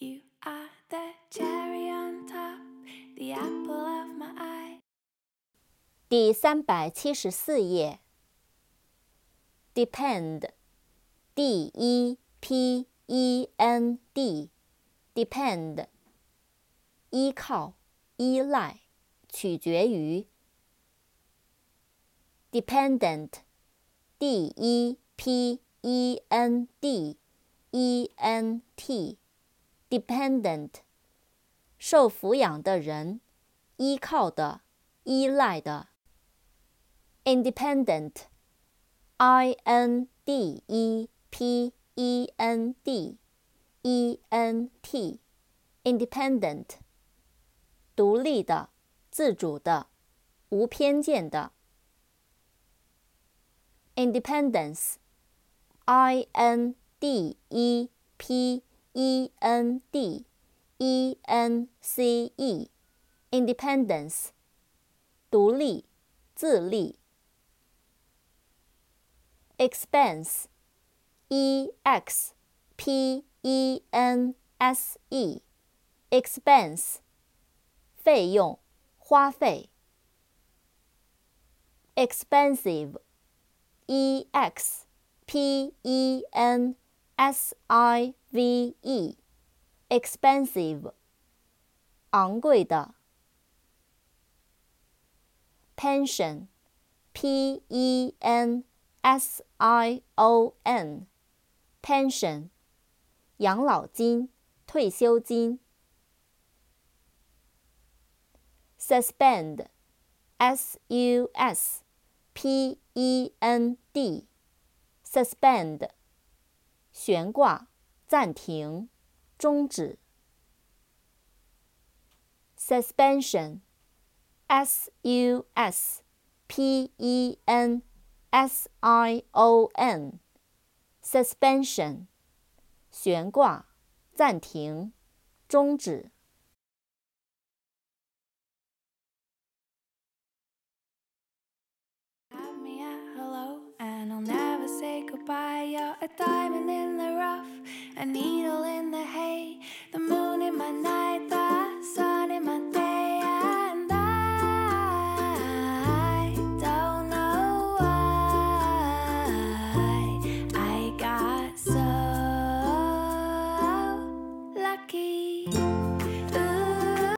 You are the cherry on top, the apple of my eye. 第374页 Depend D-E-P-E-N-D Depend 依靠、依赖、取决于 Dependent D-E-P-E-N-D-E-N-T Dependent 受抚养的人，依靠的，依赖的 Independent I-N-D-E-P-E-N-D-E-N-T Independent 独立的，自主的，无偏见的 Independence I-N-D-E-P-E-N-D-E-N-C-E Independence 独立，自立Expense E-X-P-E-N-S-E Expense 费用，花费 Expensive E-X-P-E-N-S-I-V-E Expensive 昂贵的Pension P-E-N-S-I-O-N Pension 养老金，退休金Suspend S-U-S-P-E-N-D Suspend 悬挂，暂停，终止Suspension S-U-S-P-E-N-S-I-O-N Suspension 悬挂，暂停，终止 Have me at hello, and I'll never say goodbye. You're a diamond in the rough, a needle in the hay, the moon in my night.